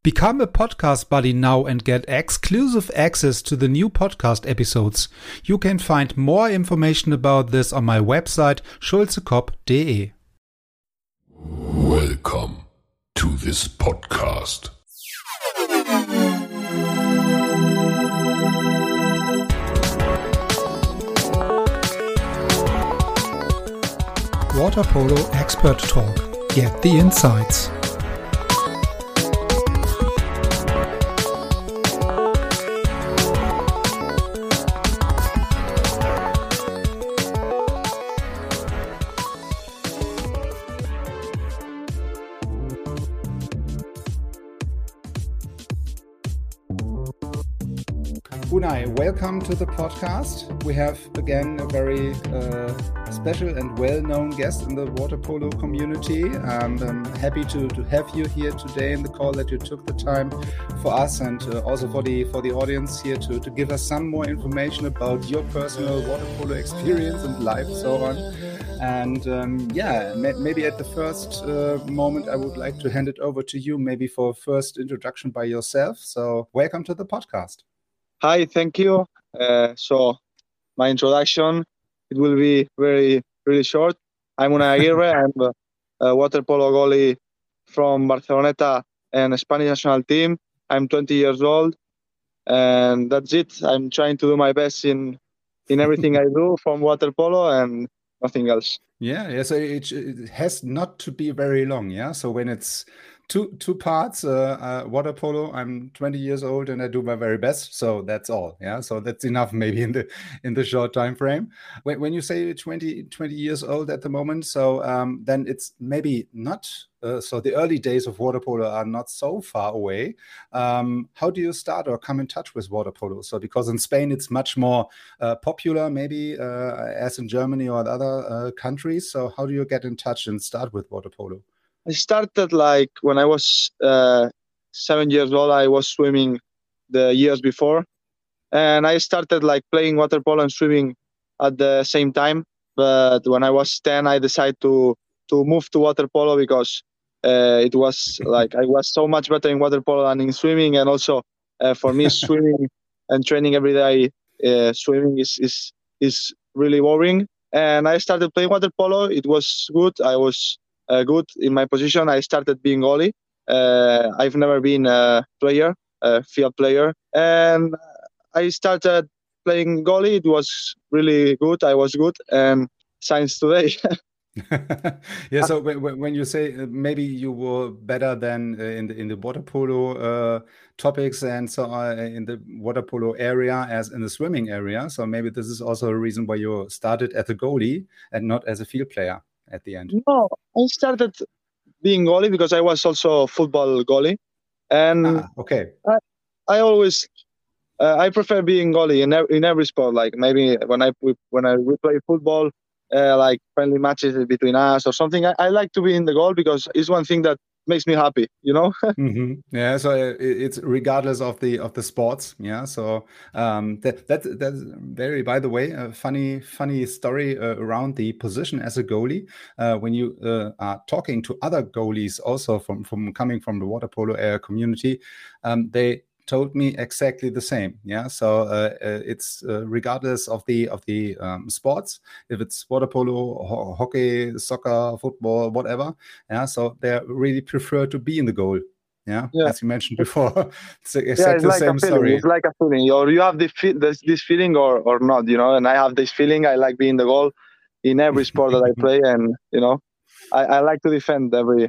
Become a podcast buddy now and get exclusive access to the new podcast episodes. You can find more information about this on my website schulzekop.de. Welcome to this podcast. Water Polo Expert Talk. Get the insights. Unai, welcome to the podcast. We have again a very special and well-known guest in the water polo community, and I'm happy to have you here today in the call, that you took the time for us and also for the audience here to give us some more information about your personal water polo experience and life, so on. And maybe at the first moment, I would like to hand it over to you, maybe for a first introduction by yourself. So welcome to the podcast. Hi, thank you. So my introduction, it will be really short. I'm Unai Aguirre. I'm a water polo goalie from Barceloneta and Spanish national team. I'm 20 years old, and that's it. I'm trying to do my best in everything I do from water polo and nothing else. Yeah. So it has not to be very long. Yeah. So when it's two parts, water polo, I'm 20 years old and I do my very best. So that's all. Yeah. So that's enough maybe in the short time frame. When you say 20 years old at the moment, so then it's maybe not, so the early days of water polo are not so far away. How do you start or come in touch with water polo? So because in Spain, it's much more popular maybe as in Germany or other countries. So how do you get in touch and start with water polo? I started when I was 7 years old. I was swimming the years before, and I started playing water polo and swimming at the same time. But when I was 10, I decided to move to water polo because it was I was so much better in water polo than in swimming, and also for me swimming and training every day, swimming is really boring. And I started playing water polo. It was good. I was good in my position. I started being goalie. I've never been a player, a field player, and I started playing goalie. It was really good. I was good, and since today. Yeah. So when you say maybe you were better than in the water polo topics and so on in the water polo area as in the swimming area, so maybe this is also a reason why you started as a goalie and not as a field player at the end. No, I started being goalie because I was also a football goalie, and okay. I always I prefer being goalie in every sport. Like maybe when we play football, like friendly matches between us or something, I like to be in the goal because it's one thing that makes me happy, you know. Mm-hmm. Yeah, so it's regardless of the sports. Yeah, so that's very, by the way, a funny story around the position as a goalie. When you are talking to other goalies, also from coming from the water polo community, they told me exactly the same. Yeah, so it's regardless of the sports, if it's water polo, hockey, soccer, football, whatever. Yeah, so they really prefer to be in the goal. Yeah, as you mentioned before. It's exactly the same story. It's like a feeling, or you have this feeling or not, you know. And I have this feeling. I like being in the goal in every sport that I play, and you know, I like to defend everything.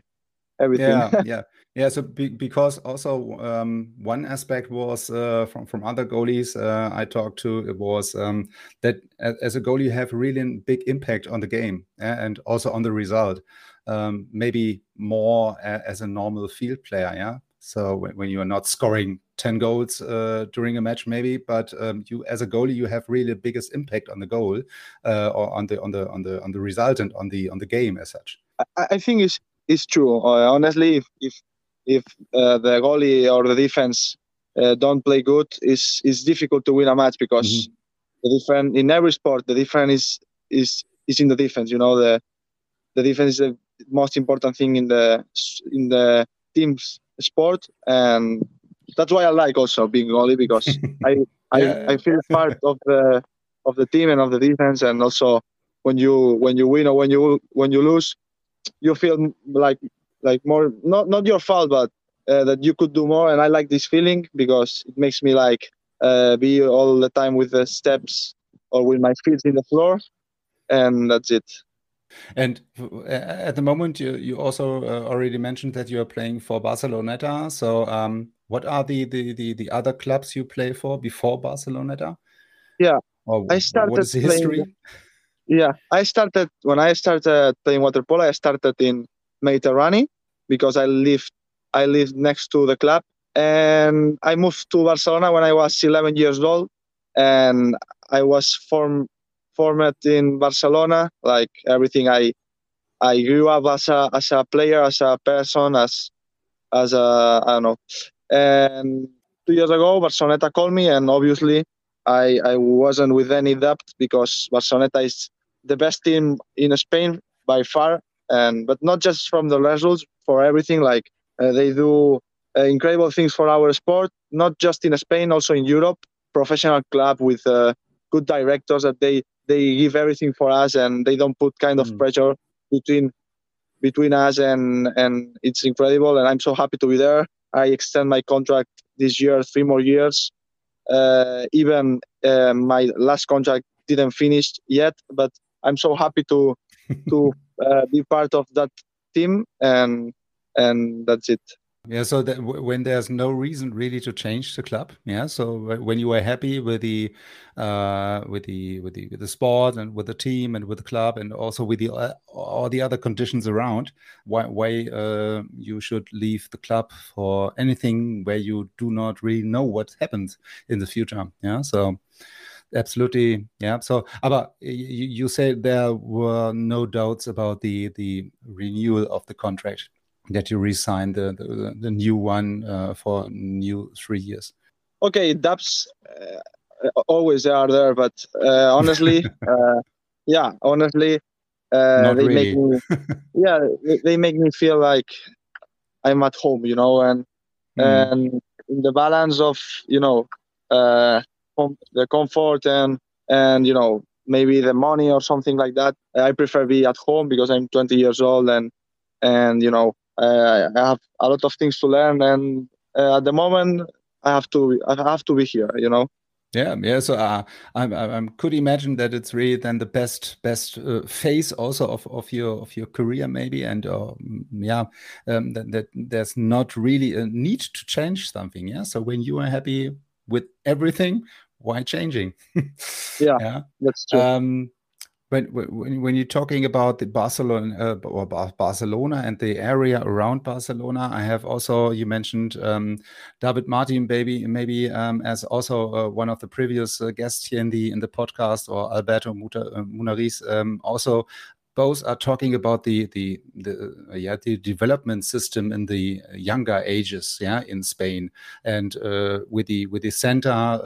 Yeah. So because also one aspect was from other goalies I talked to, it was that as a goalie you have really a big impact on the game and also on the result. Maybe more as a normal field player. Yeah. So when you are not scoring 10 goals during a match, maybe, but you as a goalie you have really the biggest impact on the goal or on the result and on the game as such. I think it's true. Honestly, if the goalie or the defense don't play good, it's difficult to win a match because the difference in every sport, the difference is in the defense. You know, the defense is the most important thing in the teams sport, and that's why I like also being goalie, because I feel part of the team and of the defense, and also when you win or when you lose, you feel like more, not your fault, but that you could do more. And I like this feeling because it makes me like be all the time with the steps or with my feet in the floor, and that's it. And at the moment, you also already mentioned that you are playing for Barceloneta. So, what are the other clubs you play for before Barceloneta? Yeah, Or I what started is the playing. history? Yeah, when I started playing water polo. I started in Mediterranean because I lived next to the club, and I moved to Barcelona when I was 11 years old, and I was formed in Barcelona. Like everything, I grew up as a player, as a person, as a, I don't know. And 2 years ago, Barceloneta called me, and obviously, I wasn't with any doubt because Barceloneta is the best team in Spain by far, and but not just from the results, for everything. Like they do incredible things for our sport, not just in Spain, also in Europe. Professional club with good directors that they give everything for us, and they don't put kind of pressure between us, and it's incredible, and I'm so happy to be there. I extend my contract this year 3 more years. Even my last contract didn't finish yet, but I'm so happy to be part of that team, and that's it. Yeah, so that when there's no reason really to change the club, yeah. So when you are happy with the sport and with the team and with the club and also with the all the other conditions around, why you should leave the club for anything where you do not really know what happens in the future, yeah. So absolutely, yeah. So, but you said there were no doubts about the renewal of the contract, that you re-sign the new one for new 3 years. Okay, dubs always are there, but honestly, honestly, Not they make really. me, yeah, they make me feel like I'm at home, and in the balance of uh, the comfort and maybe the money or something like that. I prefer be at home because I'm 20 years old, and I have a lot of things to learn, and at the moment I have to be here. Yeah. So I could imagine that it's really then the best phase also of your career maybe, and that there's not really a need to change something. Yeah. So when you are happy with everything, why changing? Yeah, that's true. When you're talking about the Barcelona and the area around Barcelona, I have also, you mentioned David Martin, maybe as also one of the previous guests here in the podcast, or Alberto Munariz, also. Both are talking about the development system in the younger ages, yeah, in Spain, and with the center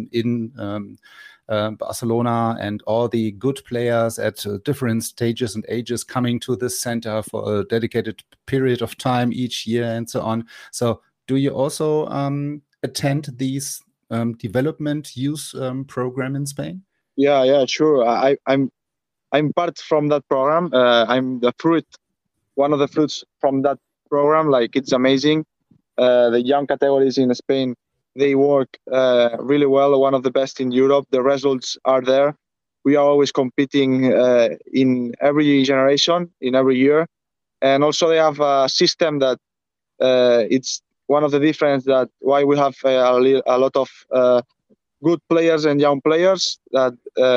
in Barcelona, and all the good players at different stages and ages coming to this center for a dedicated period of time each year and so on. So do you also attend these development youth program in Spain? Yeah, sure. I'm part from that program. I'm one of the fruits from that program. Like, it's amazing. The young categories in Spain, they work really well. One of the best in Europe. The results are there. We are always competing in every generation, in every year. And also they have a system that it's one of the difference that why we have a lot of good players and young players that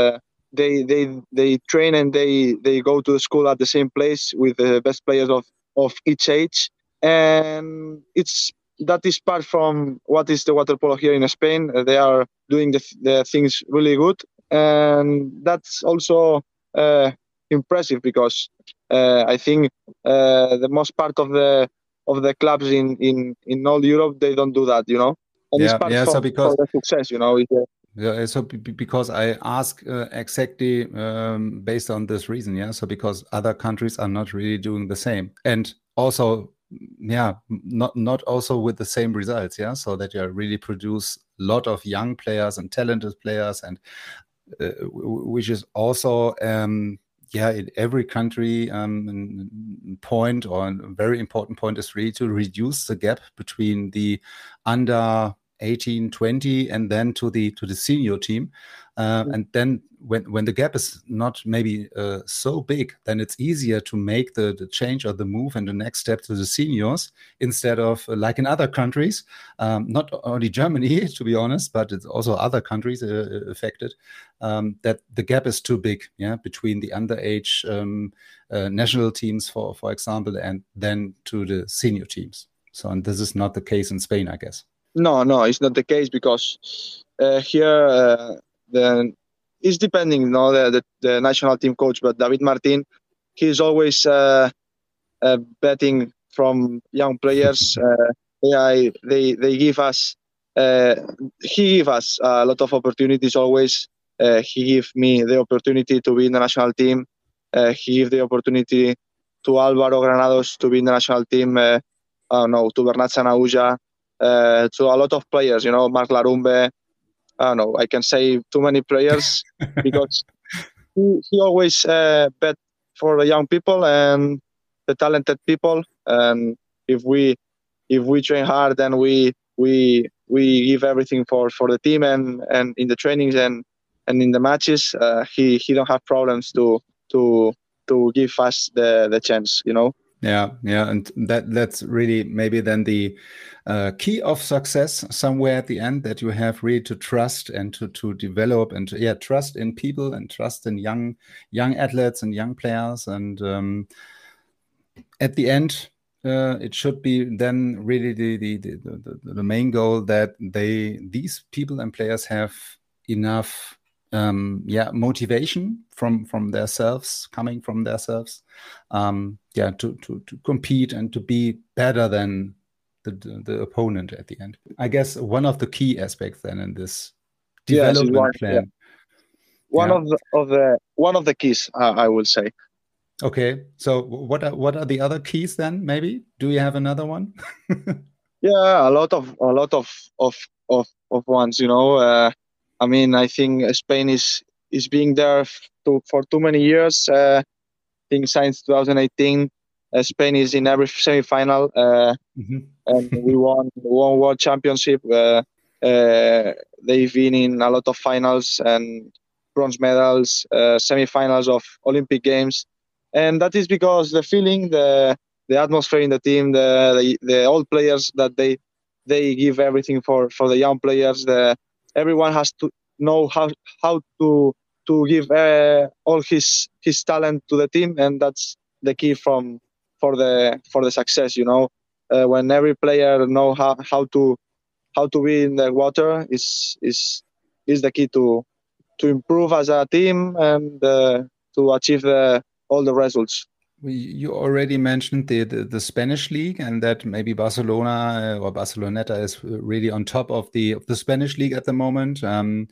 they train, and they go to school at the same place with the best players of each age. And that is part from what is the water polo here in Spain. They are doing the things really good, and that's also impressive because I think the most part of the clubs in all Europe, they don't do that, and it's part So for the success, Yeah, so because I ask exactly based on this reason, yeah. So because other countries are not really doing the same, and also not also with the same results. Yeah, so that you really produce a lot of young players and talented players, and which is also in every country, point or a very important point is really to reduce the gap between the under 18, 20, and then to the senior team. And then when the gap is not maybe so big, then it's easier to make the change or the move and the next step to the seniors instead of like in other countries, not only Germany, to be honest, but it's also other countries affected, that the gap is too big, between the underage national teams, for example, and then to the senior teams. So, and this is not the case in Spain, I guess. No, it's not the case because here it's depending, the national team coach, but David Martin, he's always betting from young players. They give us, he give us a lot of opportunities always. He give me the opportunity to be in the national team. He give the opportunity to Álvaro Granados to be in the national team. To Bernat Sanahuja. To a lot of players, Marc Larumbe. I don't know, I can say too many players because he always bet for the young people and the talented people. And if we train hard, then we give everything for the team and in the trainings and in the matches. He don't have problems to give us the chance, Yeah, and that's really maybe then the key of success somewhere at the end, that you have really to trust and to develop and trust in people and trust in young athletes and young players. And at the end, it should be then really the main goal that these people and players have enough motivation from themselves, coming from themselves, to compete and to be better than the opponent at the end. I guess one of the key aspects then in this development plan. One of the keys, I will say. Okay, so what are the other keys then? Maybe do you have another one? A lot of ones. I mean, I think Spain is being there for too many years. I think since 2018, Spain is in every semi-final, and we won World Championship. They've been in a lot of finals and bronze medals, semi-finals of Olympic Games, and that is because the feeling, the atmosphere in the team, the old players, that they give everything for the young players. Everyone has to know how to give all his talent to the team, and that's the key for the success. When every player know how to be in the water is the key to improve as a team and to achieve all the results. You already mentioned the Spanish league, and that maybe Barcelona or Barceloneta is really on top of the Spanish league at the moment.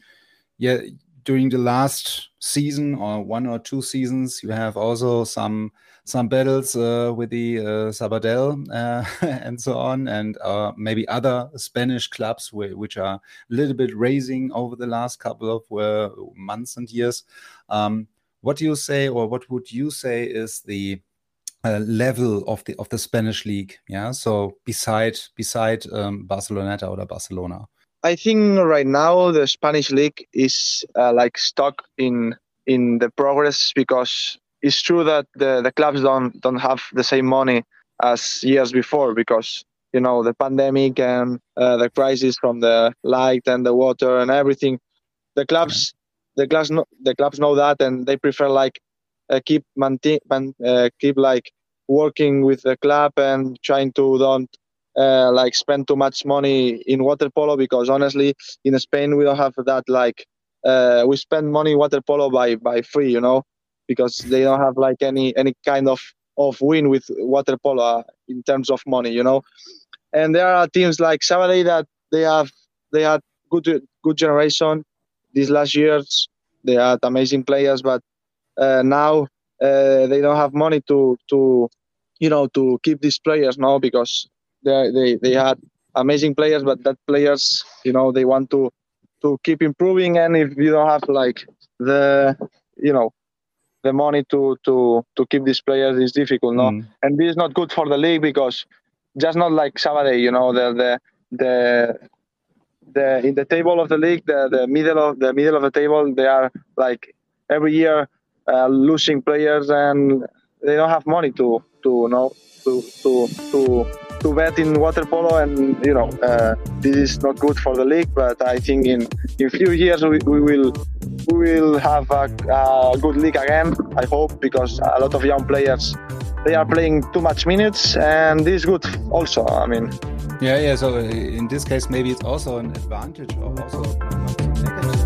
During the last season or 1 or 2 seasons, you have also some battles with the Sabadell and so on, and maybe other Spanish clubs which are a little bit raising over the last couple of months and years. What do you say, or what would you say is the level of the Spanish league? Yeah, so beside Barceloneta or Barcelona. I think right now the Spanish league is like stuck in the progress, because it's true that the clubs don't have the same money as years before, because the pandemic and the crisis from the light and the water and everything. The clubs know that, and they prefer like keep like working with the club and trying to don't like spend too much money in water polo, because honestly in Spain we don't have that, like we spend money in water polo by free, because they don't have like any kind of win with water polo in terms of money, and there are teams like Sabadell that they had good generation these last years. They had amazing players, but now they don't have money to to keep these players now, because they had amazing players, but that players, they want to keep improving, and if you don't have like the the money to keep these players, is difficult, no? And this is not good for the league, because just not like Sabadell, the in the table of the league, the middle of the table, they are like every year losing players, and they don't have money to bet in water polo, and this is not good for the league. But I think in few years we will have a good league again, I hope, because a lot of young players, they are playing too much minutes, and this is good also. I mean, yeah. So in this case, maybe it's also an advantage, or also not so negative.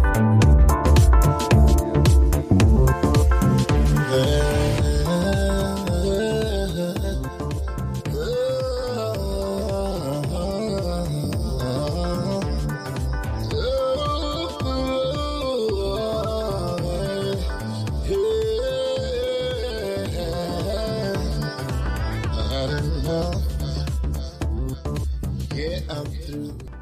Yeah, I'm through.